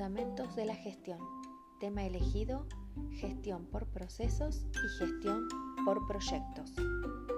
Fundamentos de la gestión. Tema elegido: gestión por procesos y gestión por proyectos.